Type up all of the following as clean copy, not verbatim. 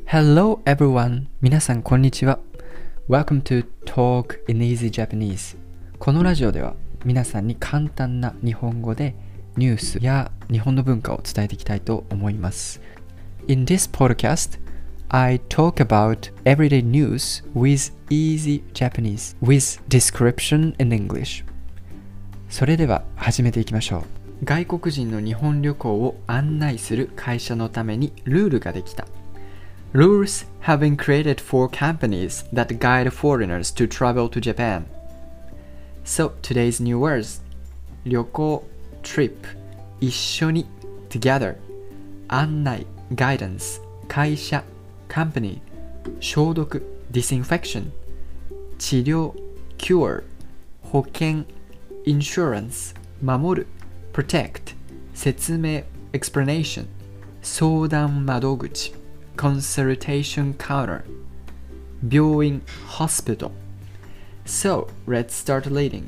Hello everyone! 皆さんこんにちは。Welcome to Talk in Easy Japanese. このラジオでは皆さんに簡単な日本語でニュースや日本の文化を伝えていきたいと思います。In this podcast, I talk about everyday news with easy Japanese with description in English. それでは始めていきましょう。外国人の日本旅行を案内する会社のためにルールができた。Rules have been created for companies that guide foreigners to travel to Japan. So today's new words: 旅行 trip 一緒に together 案内 guidance 会社 company 消毒 disinfection 治療 cure 保険 insurance 守る protect 説明 explanation 相談窓口Consultation counter 病院 hospital So, let's start reading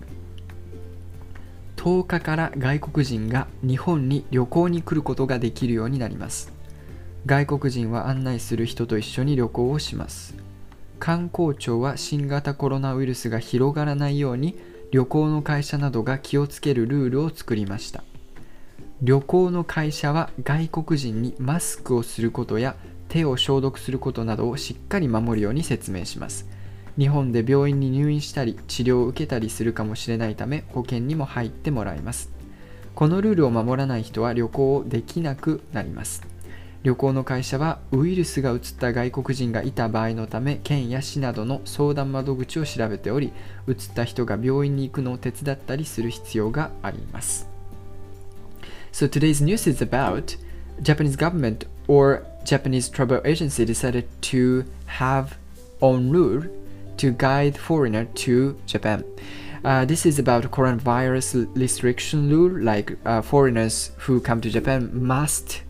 10日から外国人が日本に旅行に来ることができるようになります外国人は案内する人と一緒に旅行をします観光庁は新型コロナウイルスが広がらないように旅行の会社などが気をつけるルールを作りました旅行の会社は外国人にマスクをすることや手を消毒することなどをしっかり守るように説明します。日本で病院に入院したり治療を受けたりするかもしれないため保険にも入ってもらいます。このルールを守らない人は旅行をできなくなります。旅行の会社はウイルスがうつった外国人がいた場合のため県や市などの相談窓口を調べており、うつった人が病院に行くのを手伝ったりする必要があります。So today's news is about Japanese government or Japanese travel agency decided to have own rule to guide foreigner to Japan. This is about coronavirus restriction rule, like foreigners who come to Japan must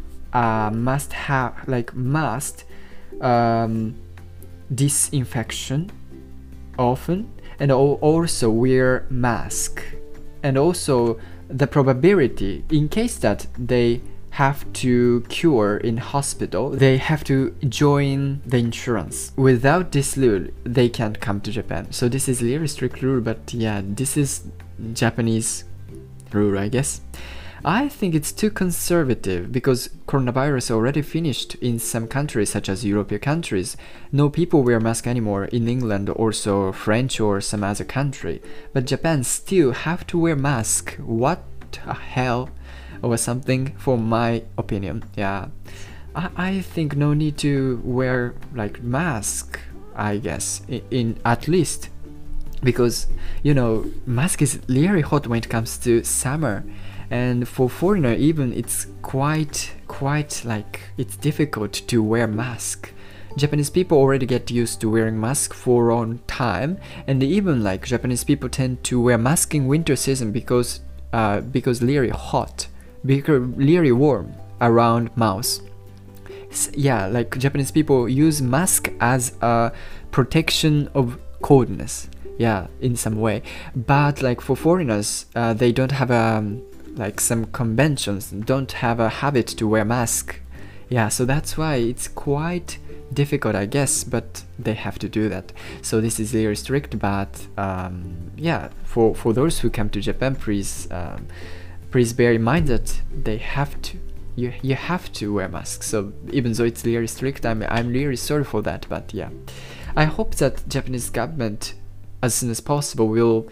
disinfection often and also wear mask and also the probability in case that they have to cure in hospital, they have to join the insurance. Without this rule, they can't come to Japan. So this is a really strict rule, but yeah, this is Japanese rule, I guess. I think it's too conservative because coronavirus already finished in some countries such as European countries. No people wear mask anymore in England, also French or some other country. But Japan still have to wear mask. What the hell? Or something for my opinion. Yeah, I think no need to wear like mask, I guess, in at least because mask is really hot when it comes to summer, and for foreigner even it's quite like it's difficult to wear mask. Japanese people already get used to wearing mask for a long time, and even like Japanese people tend to wear mask in winter season because really hot. Because really warm around mouth. Yeah, like Japanese people use mask as a protection of coldness. Yeah, in some way. But like for foreigners, they don't have like some conventions, don't have a habit to wear mask. Yeah, so that's why it's quite difficult, I guess, but they have to do that. So this is very strict, but yeah, for those who come to Japan, please bear in mind that they have to. You have to wear masks. So even though it's really strict, I'm really sorry for that. But yeah, I hope that Japanese government, as soon as possible, will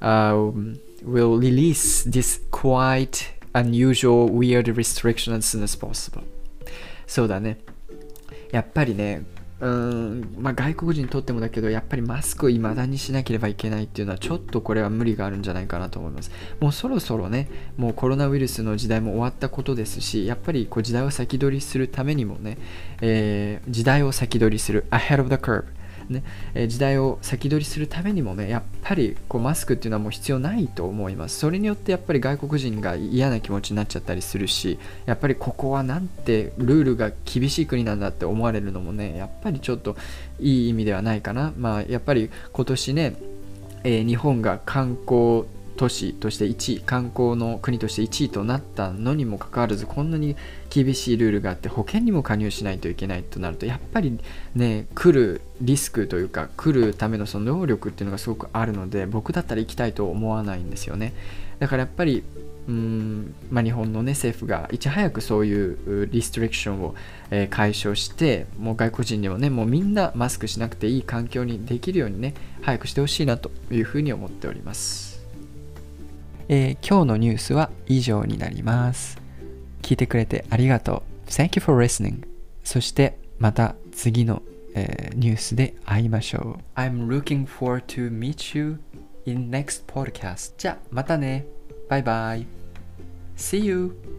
release this quite unusual, weird restriction as soon as possible. そうだね。やっぱりね。外国人にとってもだけどやっぱりマスクを未だにしなければいけないっていうのはちょっとこれは無理があるんじゃないかなと思いますもうそろそろねもうコロナウイルスの時代も終わったことですしやっぱりこう時代を先取りするためにもね、時代を先取りする ahead of the curveね時代を先取りするためにもねやっぱりこうマスクっていうのはもう必要ないと思いますそれによってやっぱり外国人が嫌な気持ちになっちゃったりするしやっぱりここはなんてルールが厳しい国なんだって思われるのもねやっぱりちょっといい意味ではないかなまあやっぱり今年ね、日本が観光都市として1位、観光の国として1位となったのにもかかわらず、こんなに厳しいルールがあって保険にも加入しないといけないとなると、やっぱりね、来るリスクというか来るためのその能力っていうのがすごくあるので、僕だったら行きたいと思わないんですよね。だからやっぱり日本の、ね、政府がいち早くそういうリストリクションを、解消して、もう外国人にもね、もうみんなマスクしなくていい環境にできるようにね、早くしてほしいなというふうに思っております。今日のニュースは以上になります。聞いてくれてありがとう。Thank you for listening. そしてまた次の、ニュースで会いましょう。I'm looking forward to meet you in next podcast. じゃあまたね。バイバイ。See you!